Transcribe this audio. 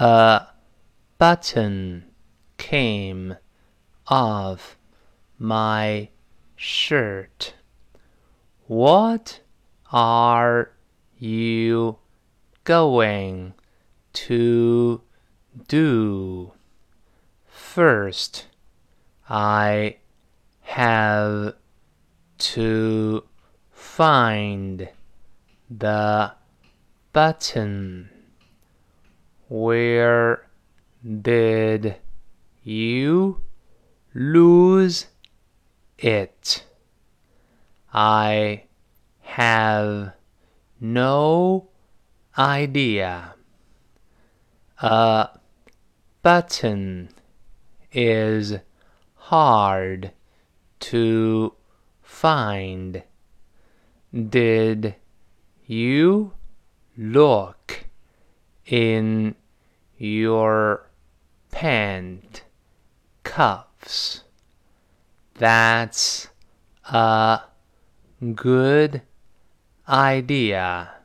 A button came off my shirt. What are you going to do? First, I have to find the button. Where did you lose it? I have no idea. A button is hard to find. Did you look in your pant cuffs? That's a good idea.